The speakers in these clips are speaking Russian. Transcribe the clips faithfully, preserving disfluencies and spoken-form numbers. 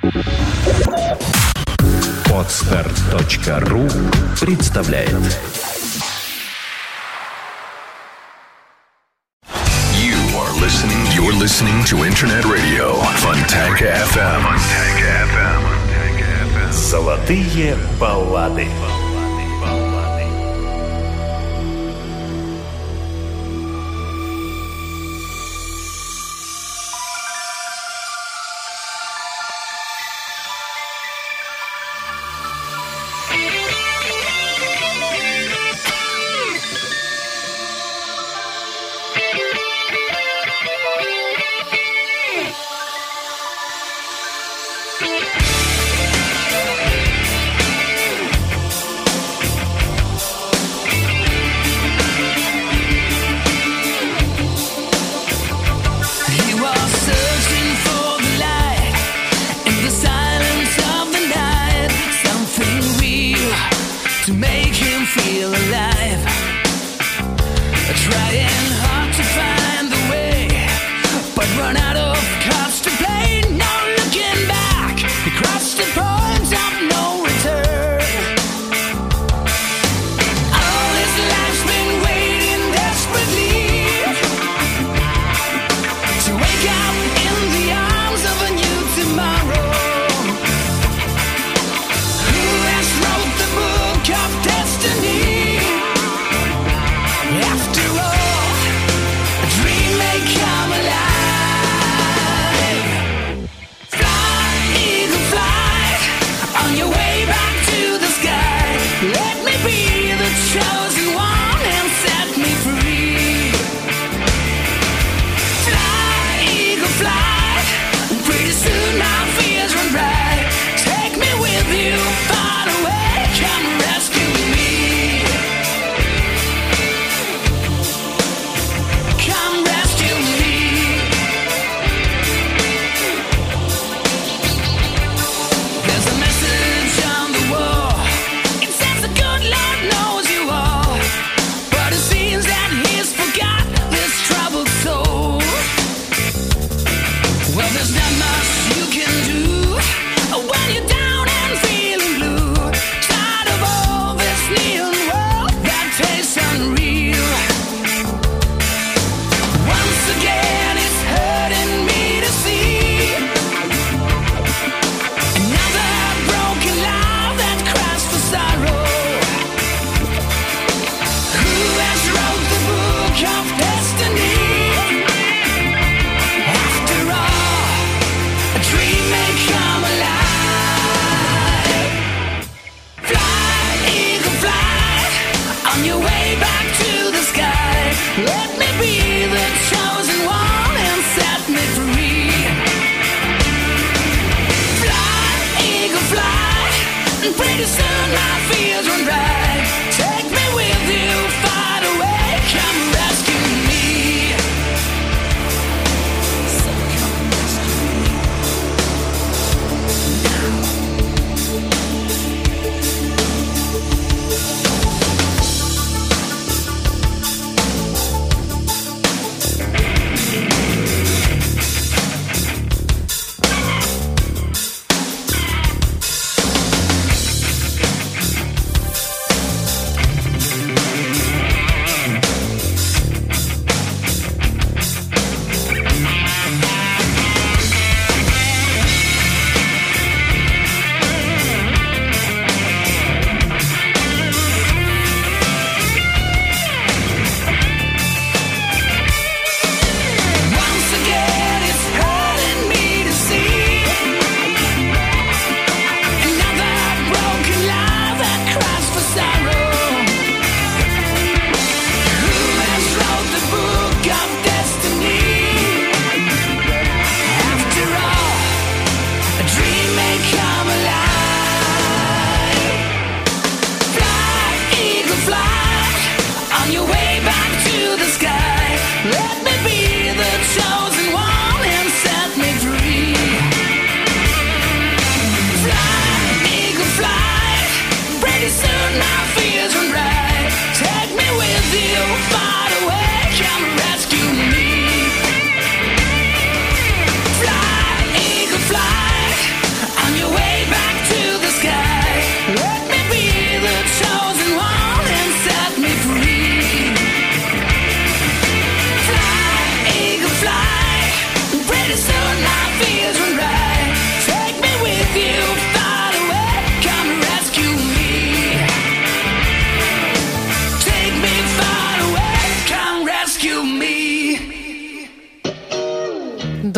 Подстер точка ру представляет. You are listening. You're listening to Internet Radio Fontanka эф эм. Fontanka эф эм. Золотые баллады.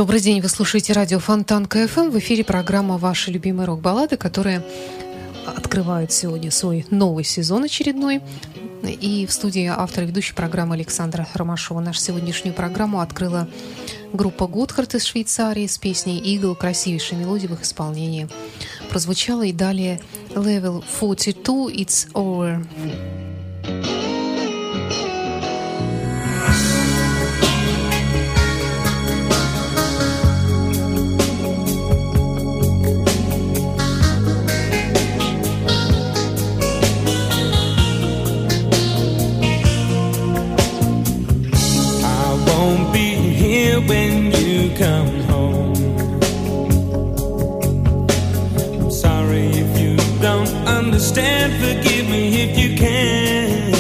Добрый день, вы слушаете радио Фонтанка эф эм. В эфире программа «Ваши любимые рок-баллады», которые открывают сегодня свой новый сезон очередной. И в студии автор и ведущей программы Александра Ромашова. Нашу сегодняшнюю программу открыла группа Готхард из Швейцарии с песней «Eagle», красивейшей мелодией в их исполнении. Прозвучало и далее «Level сорок два, It's Over». When you come home, I'm sorry if you don't understand, forgive me if you can,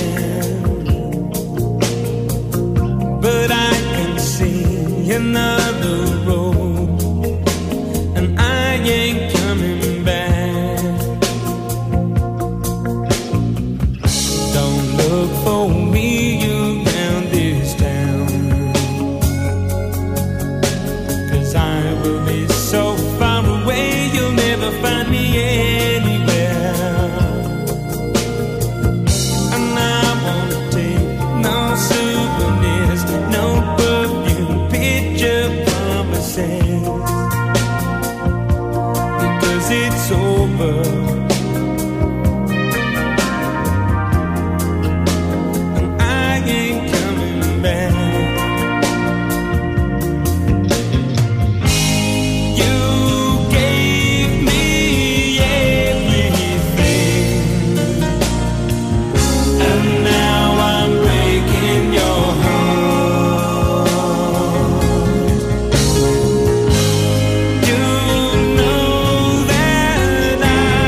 but I can see another road, and I ain't coming back. Don't look for me around this town, I will be so far away, you'll never find me anywhere. And I won't take no souvenirs, no perfume, picture promises, because it's over. And I ain't coming back. You know that I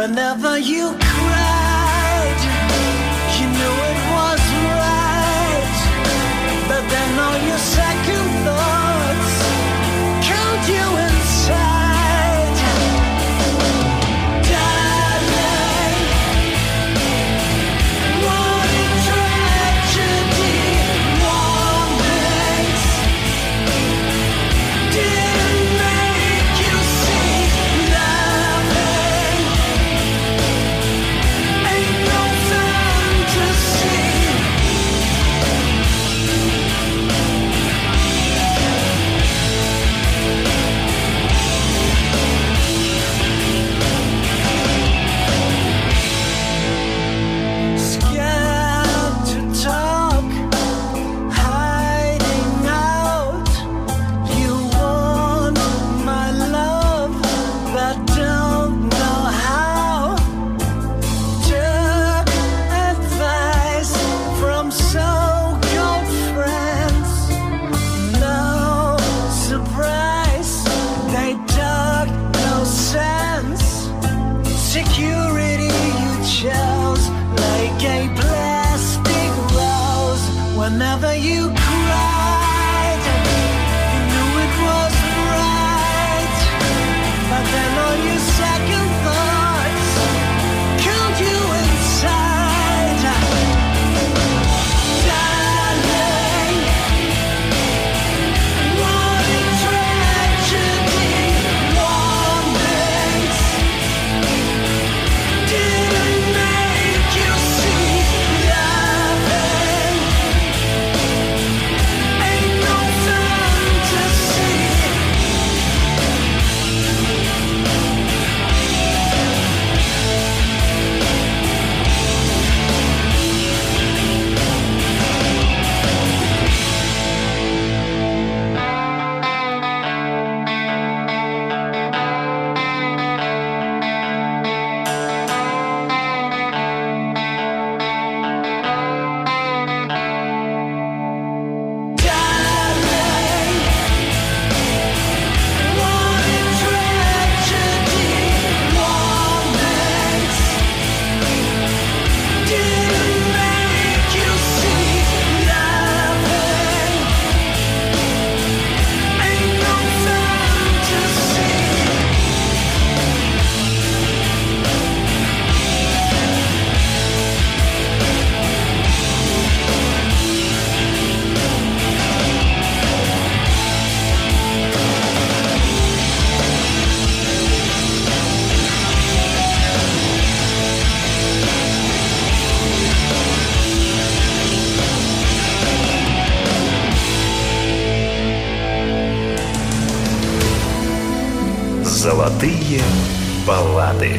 Whenever you cried, you knew it was right. But then all your second thoughts killed you inside. Darling, what a tragedy. Warnings didn't make you see. Loving ain't no fantasy. Scared to talk, hiding out. You want my love, but don't know how. Took advice from so-called friends. No surprise, they talk no sense. Security you chose like a plastic rose. Whenever you cried, you knew it was right. But then all your second thoughts killed you inside. Darling, what a tragedy. Warnings didn't make you see. Loving ain't no fantasy. Darling, what a tragedy. Warnings didn't make you see. Loving ain't no fantasy. Золотые баллады.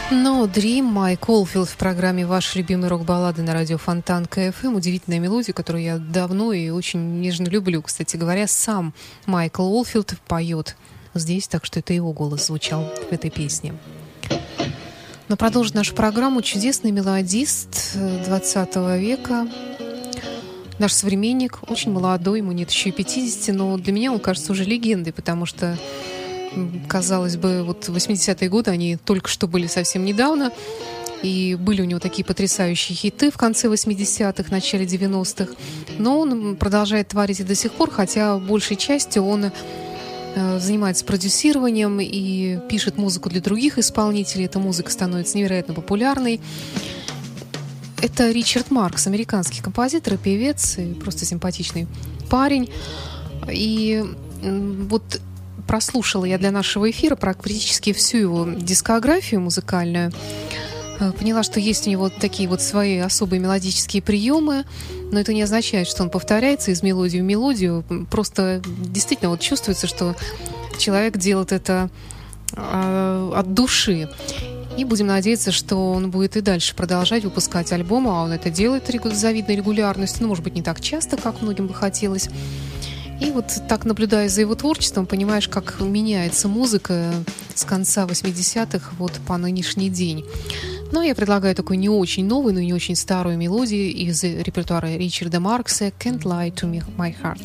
No Dream, Майк Олфилд в программе «Ваши любимые рок-баллады» на радио Фонтанка эф эм. Удивительная мелодия, которую я давно и очень нежно люблю. Кстати говоря, сам Майкл Олфилд поет здесь, так что это его голос звучал в этой песне. Но продолжит нашу программу чудесный мелодист двадцатого века, наш современник, очень молодой, ему нет еще и пятидесяти, но для меня он кажется уже легендой, потому что, казалось бы, вот восьмидесятые годы, они только что были совсем недавно, и были у него такие потрясающие хиты в конце восьмидесятых, начале девяностых, но он продолжает творить и до сих пор, хотя большей частью он занимается продюсированием и пишет музыку для других исполнителей. Эта музыка становится невероятно популярной. Это Ричард Маркс, американский композитор и певец, и просто симпатичный парень. И вот прослушала я для нашего эфира практически всю его дискографию музыкальную. Поняла, что есть у него такие вот свои особые мелодические приемы, но это не означает, что он повторяется из мелодии в мелодию. Просто действительно вот чувствуется, что человек делает это э, от души. И будем надеяться, что он будет и дальше продолжать выпускать альбомы, а он это делает с завидной регулярностью, ну, может быть, не так часто, как многим бы хотелось. И вот так, наблюдая за его творчеством, понимаешь, как меняется музыка с конца восьмидесятых вот по нынешний день. Но я предлагаю такую не очень новую, но и не очень старую мелодию из репертуара Ричарда Маркса «Can't Lie to Me, My Heart».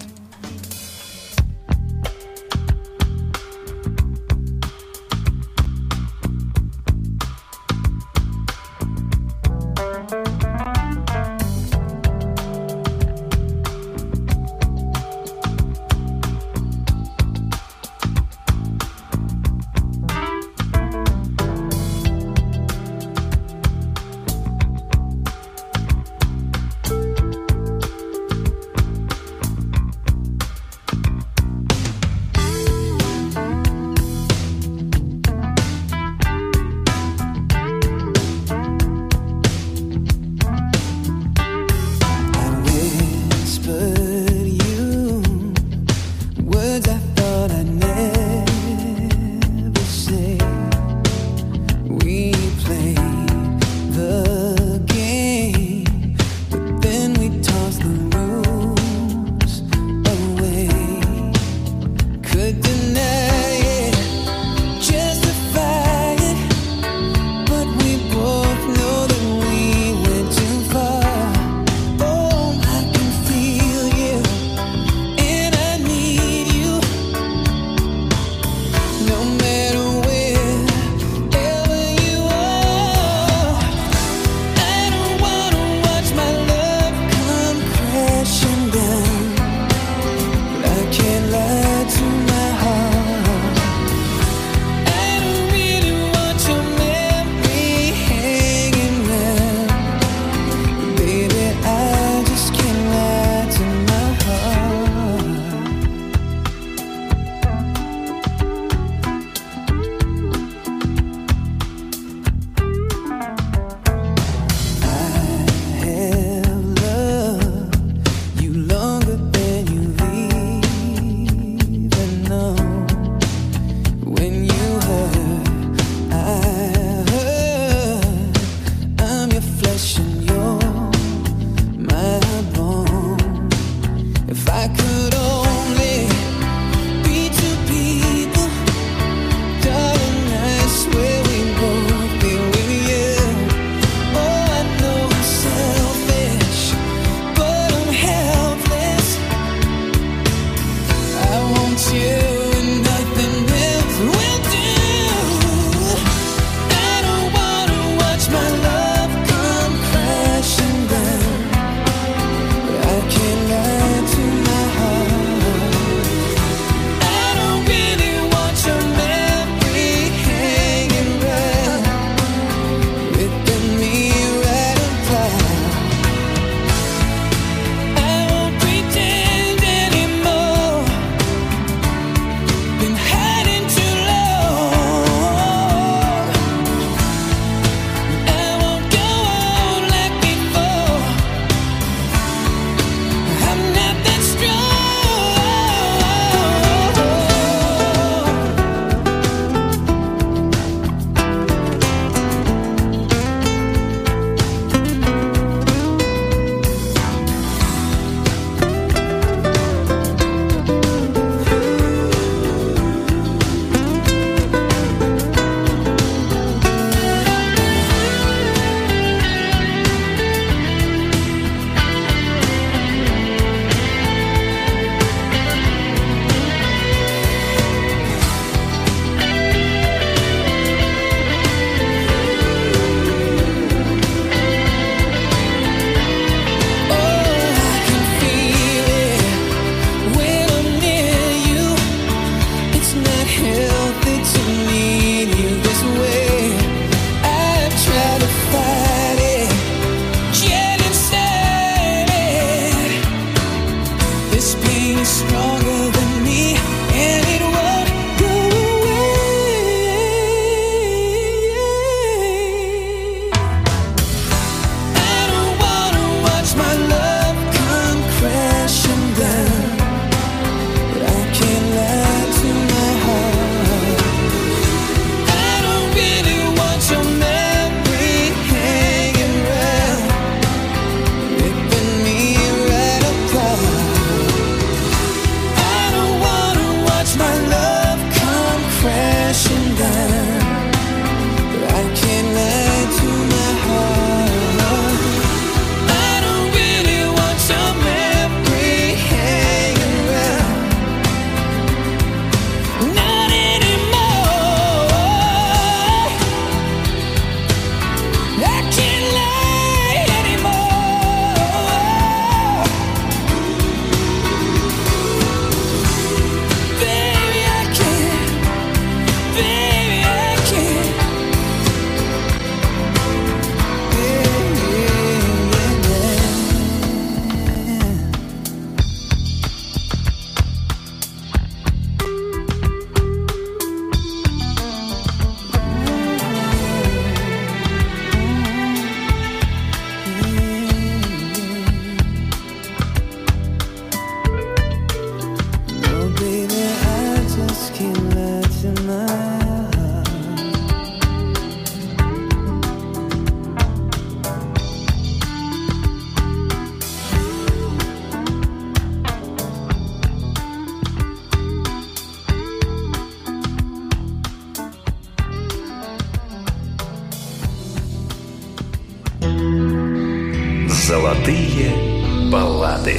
Золотые баллады.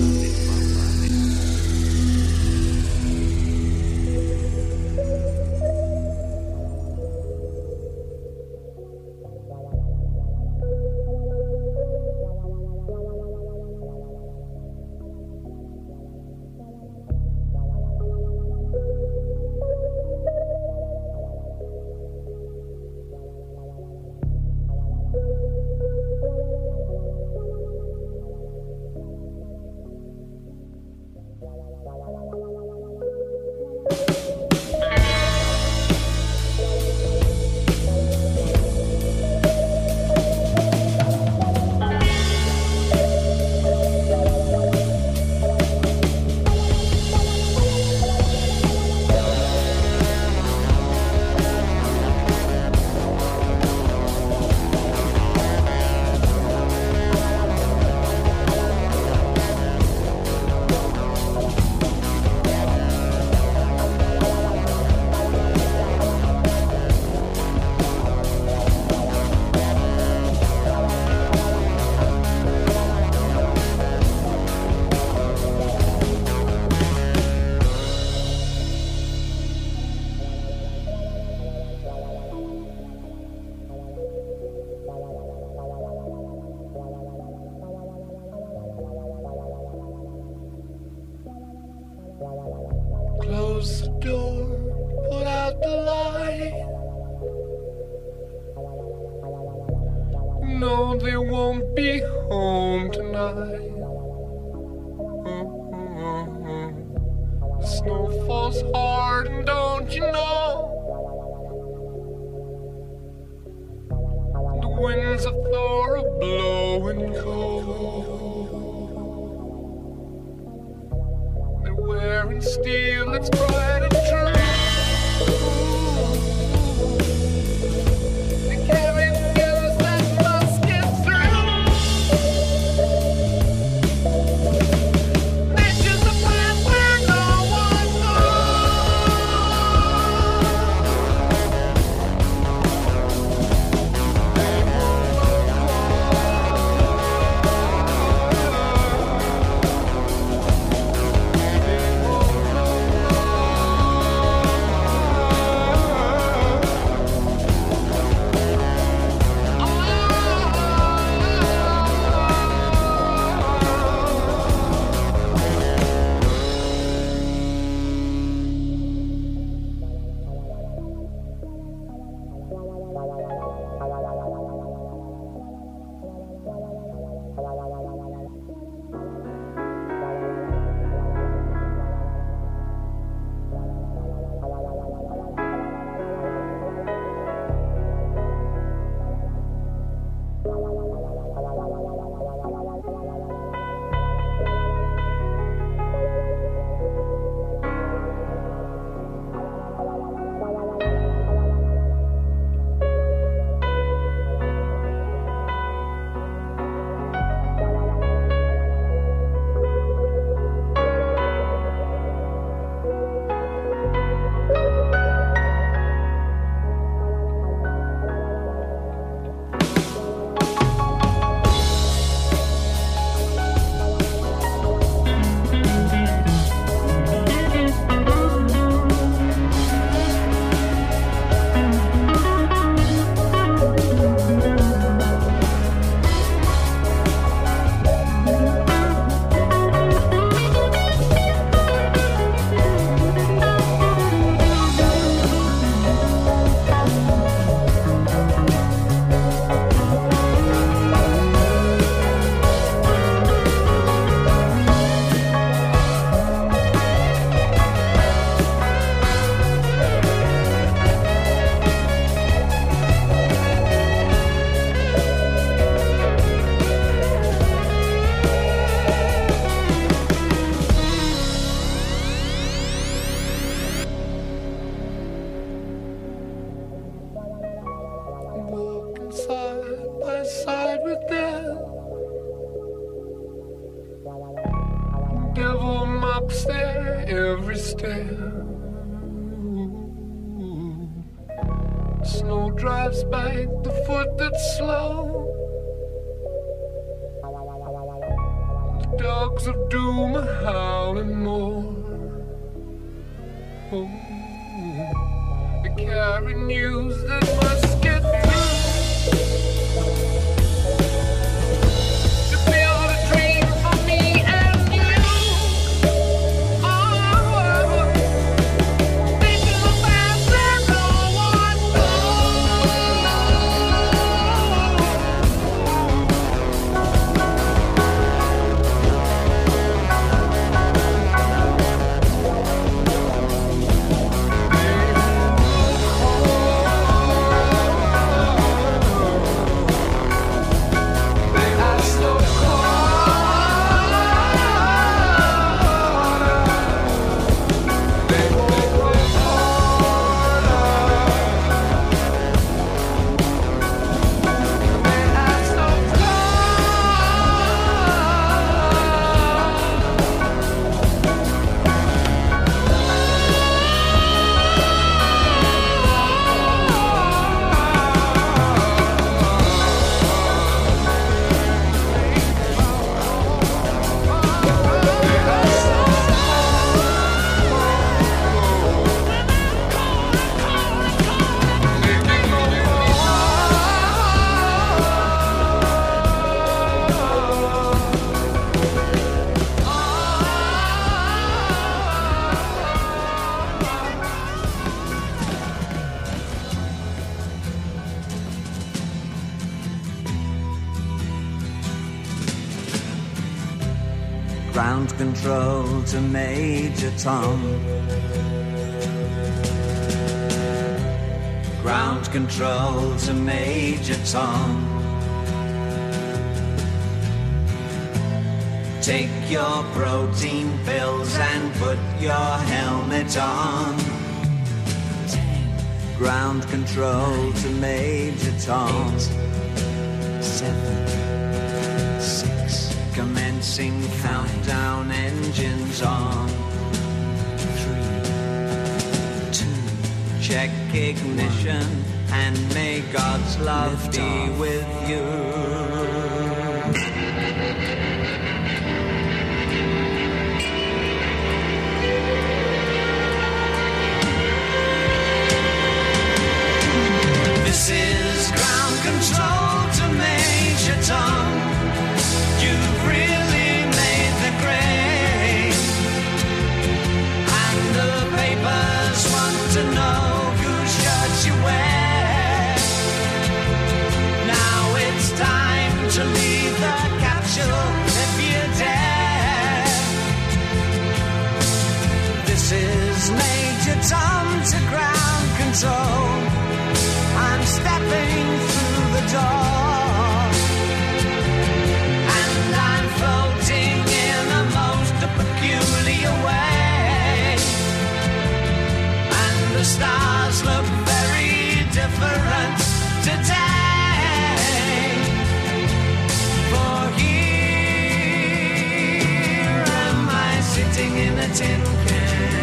Close the door, put out the light. No, they won't be home tonight. Mm-hmm. The snow falls hard, and don't you know? The winds of Thor are blowing cold. Wearing steel that's bright and true. They carry skills that must get through. Nature's a path where no one my side with death. Devil mops there every step. Snow drives by the foot that's slow. The dogs of doom are howling more. Oh, they carry news that must get through. To build a dream for me and you. Oh, thinking about where no one Ground control to Major Tom. Ground control to Major Tom. Take your protein pills and put your helmet on. Ground control to Major Tom. Eight, seven, six. Commencing countdown, engines on. Three, two, check ignition, and may God's love Lift be off. With you. This is ground control to Major Tom. You've really made the grade, and the papers want to know whose shirt you wear. Now it's time to leave the capsule if you dare. This is Major Tom to ground control. I'm stepping through the door, and I'm floating in a most peculiar way, and the stars look very different today. For here am I sitting in a tin can.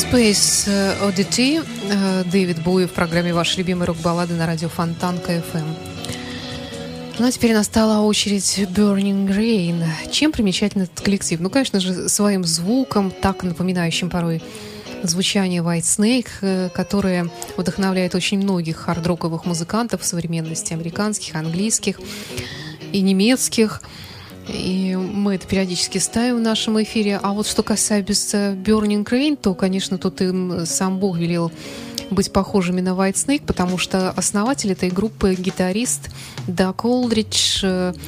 Space Oddity, Дэвид Боуи в программе «Ваши любимые рок-баллады» на радио Фонтанка эф эм. Ну а теперь настала очередь Burning Rain. Чем примечателен этот коллектив? Ну, конечно же, своим звуком, так напоминающим порой звучание White Snake, которое вдохновляет очень многих хард-роковых музыкантов в современности, американских, английских и немецких. И мы это периодически ставим в нашем эфире. А вот что касается Burning Rain, то, конечно, тут им сам Бог велел быть похожими на White Snake, потому что основатель этой группы — гитарист Даг Олдридж,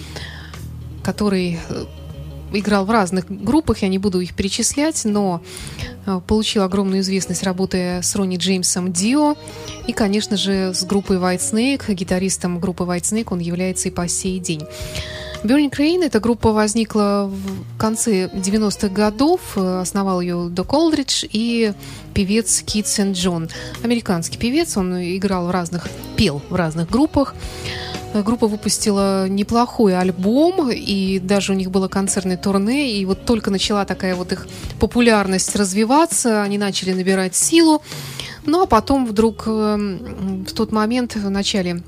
который играл в разных группах, я не буду их перечислять, но получил огромную известность, работая с Ронни Джеймсом Дио. И, конечно же, с группой White Snake, гитаристом группы White Snake он является и по сей день. Burning Rain, эта группа возникла в конце девяностых годов, основал ее Даг Олдридж и певец Кит Сент-Джон. Американский певец, он играл в разных, пел в разных группах. Группа выпустила неплохой альбом, и даже у них было концертное турне, и вот только начала такая вот их популярность развиваться, они начали набирать силу. Ну а потом вдруг в тот момент, в начале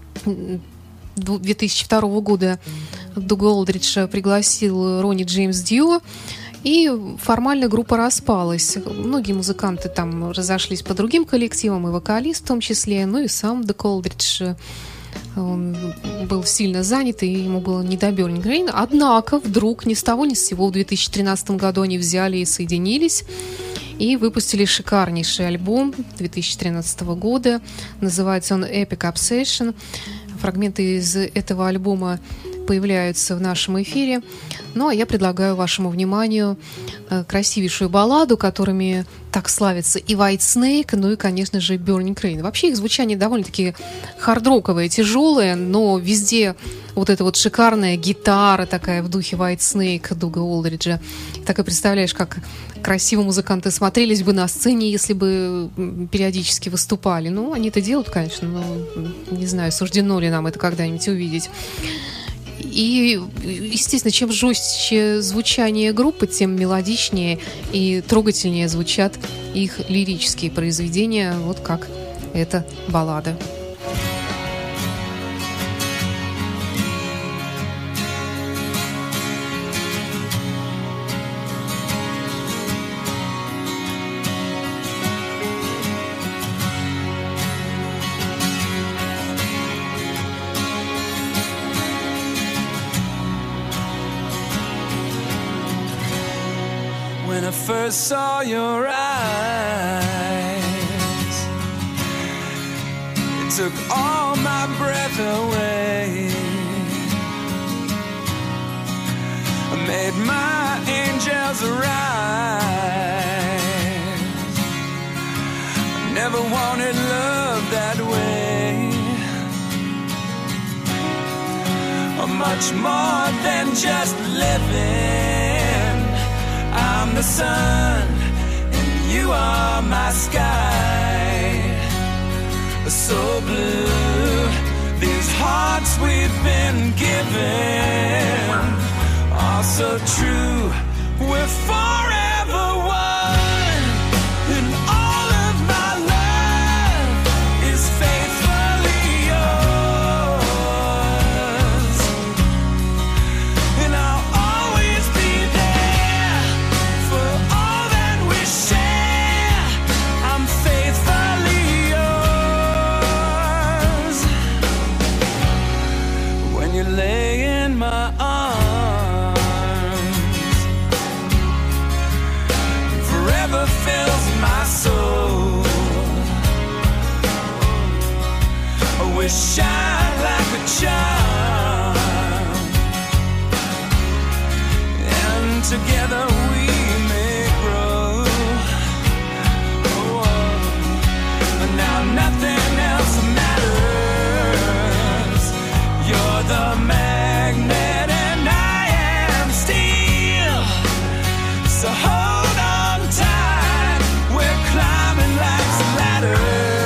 две тысячи второго года, Даг Олдридж пригласил Ронни Джеймс Дио, и формально группа распалась. Многие музыканты там разошлись по другим коллективам, и вокалист в том числе, ну и сам Даг Олдридж, он был сильно занят, и ему было не до Burning Rain. Однако вдруг ни с того ни с сего в две тысячи тринадцатом году они взяли и соединились и выпустили шикарнейший альбом две тысячи тринадцатого года. Называется он Epic Obsession. Фрагменты из этого альбома появляются в нашем эфире. Ну, а я предлагаю вашему вниманию красивейшую балладу, которыми так славятся и White Snake, ну и, конечно же, Burning Rain. Вообще их звучание довольно-таки хард-роковое, тяжелое, но везде вот эта вот шикарная гитара такая в духе White Snake, Дага Олдриджа. Так и представляешь, как красиво музыканты смотрелись бы на сцене, если бы периодически выступали. Ну, они это делают, конечно, но не знаю, суждено ли нам это когда-нибудь увидеть. И, естественно, чем жестче звучание группы, тем мелодичнее и трогательнее звучат их лирические произведения, вот как эта баллада. When I first saw your eyes, it took all my breath away. I made my angels arise. I never wanted love that way. Much more than just living. I'm the sun and you are my sky. So blue, these hearts we've been given are so true. We're forever one, and all of my love is faithfully yours. And I'll always be there for all that we share. I'm faithfully yours. When you lay in my arms, forever fills my soul. We shine like a charm, and together we may grow. Oh, but now nothing else matters. You're the magnet and I am steel. So hold on tight, we're climbing life's ladder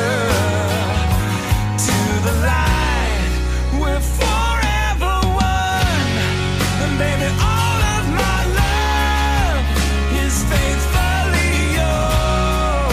to the light. We're forever one, and baby, all of my love is faithfully yours.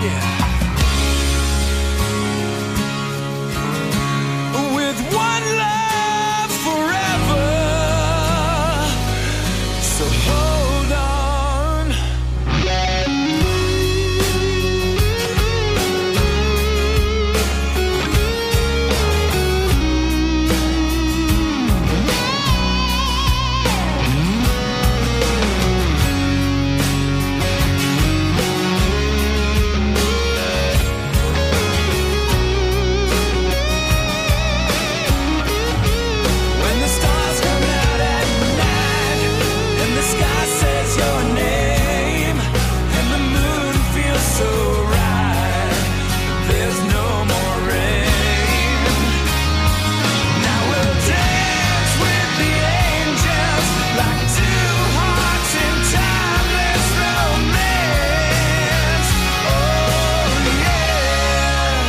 With one love forever, so hold on. When the stars come out at night and the sky says your name and the moon feels so right, there's no more rain. Now we'll dance with the angels like two hearts in timeless romance. Oh yeah,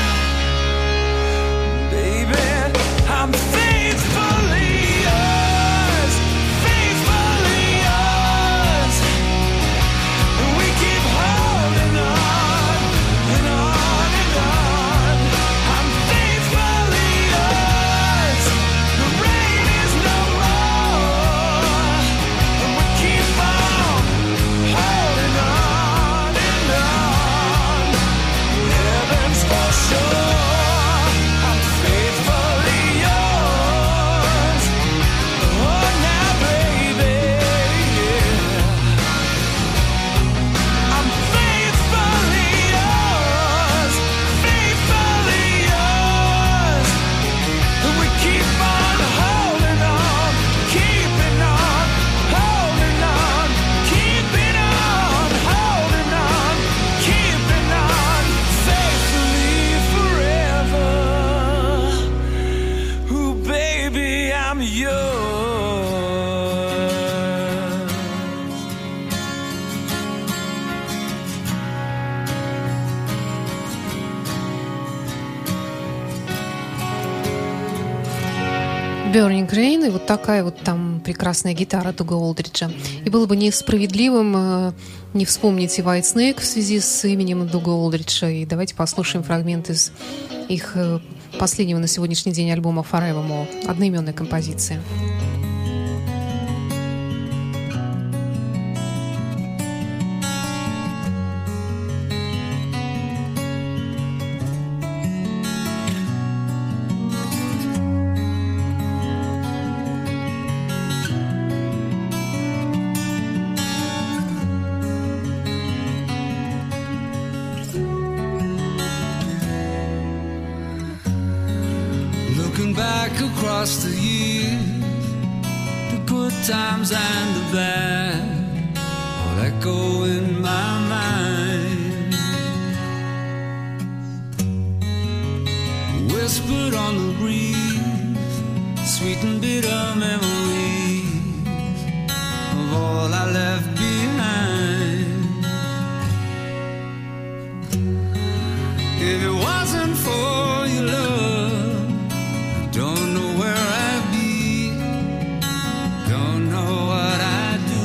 baby, I'm faithfully yours, faithfully yours. We keep holding on and on and on. I'm faithfully yours. The rain is no more, and we keep on holding on and on. Heaven's for sure. I'm faithfully yours. Oh, now, baby, I'm faithfully yours, faithfully yours. And we keep on holding on, keeping on, holding on, keeping on, holding on, keeping on, faithfully forever. Ooh, baby, I'm yours. Burning Rain, и вот такая вот там прекрасная гитара Дуга Олдриджа. И было бы несправедливым э, не вспомнить и White Snake в связи с именем Дуга Олдриджа. И давайте послушаем фрагмент из их э, последнего на сегодняшний день альбома Forevermore, одноименная композиция. Looking back across the years, the good times and the bad, all echo in my mind. Whispered on the breeze, sweet and bitter memories of all I left behind. If it wasn't for your love, don't know where I'd be, don't know what I'd do.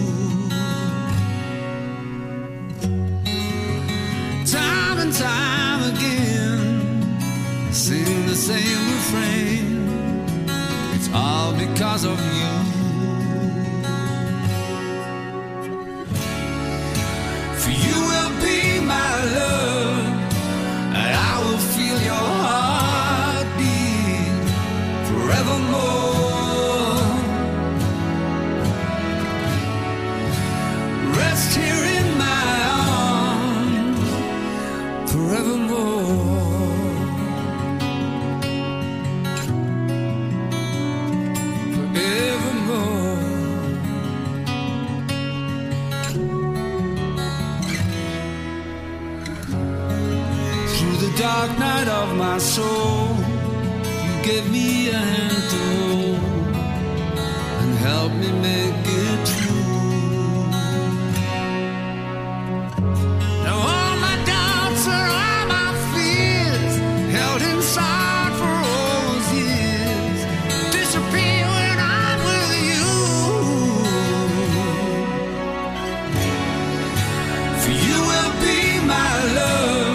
Time and time again, I sing the same refrain. It's all because of you. For you will be my love, and I will feel your heartbeat forevermore. Rest here in my arms forevermore. Forevermore. Through the dark night of my soul, you gave me a hand to hold and help me make it true. Now all my doubts are all my fears, held inside for all those years, disappear when I'm with you. For you will be my love,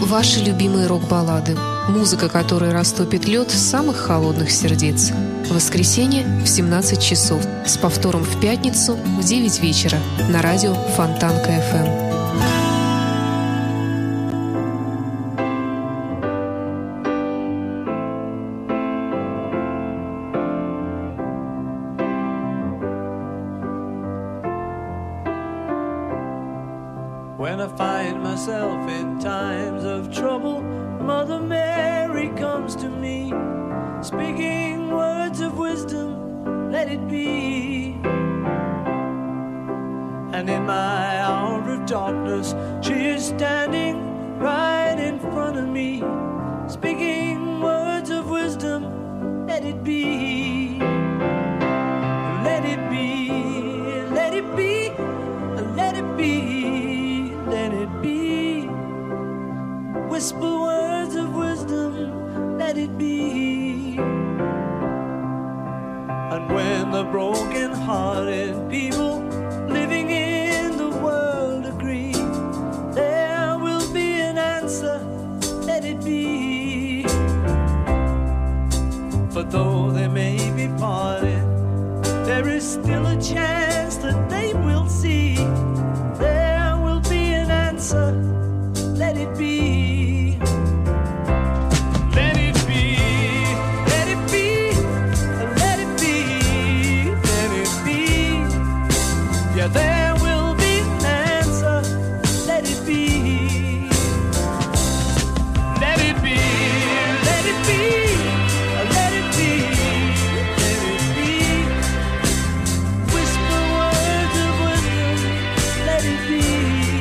Ваши любимые рок-баллады. Музыка, которая растопит лед самых холодных сердец. В воскресенье в семнадцать часов. С повтором в пятницу в девять вечера на радио Фонтанка эф эм. When I find myself in times of trouble, Mother Mary comes to me, speaking words of wisdom, let it be. And in my hour of darkness, she is standing right in front of me, speaking words of wisdom, let it be. Let it be, let it be, let it be. Let it be. Whisper words of wisdom, let it be. And when the broken-hearted people living in the world agree, there will be an answer, let it be. For though they may be parted, there is still a chance that they will see. Let it be. Let it be. Let it be. Let it be. Let it be. Yeah, there will be an answer. Let it be. Let it be. Let it be. Let it be. Let it be. Whisper words of wisdom. Let it be.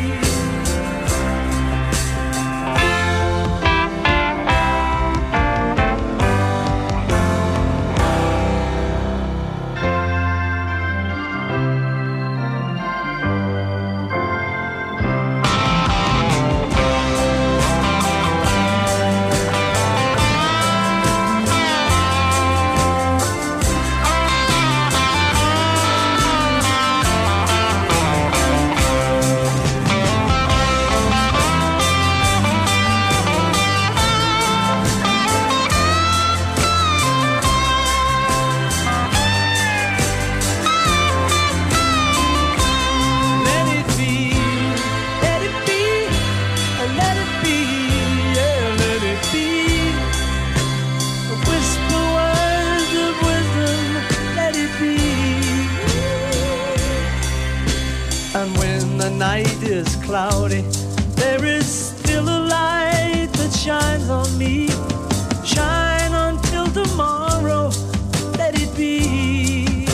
Cloudy, there is still a light that shines on me. Shine until tomorrow, let it be.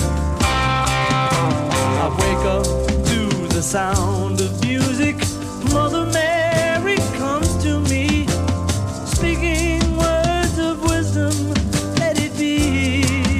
I wake up to the sound of music. Mother Mary comes to me, speaking words of wisdom, let it be.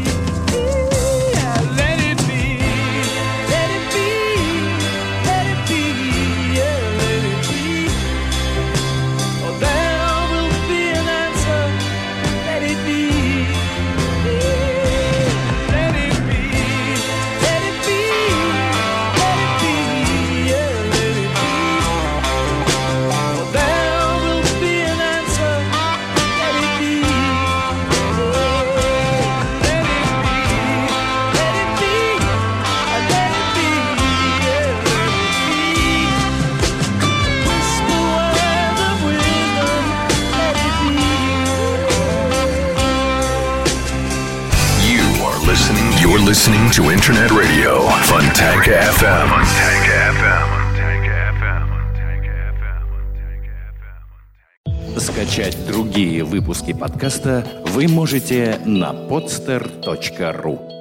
You're listening to Internet Radio, Fontanka эф эм. Fontanka эф эм. Скачать другие выпуски подкаста вы можете на podster точка ру.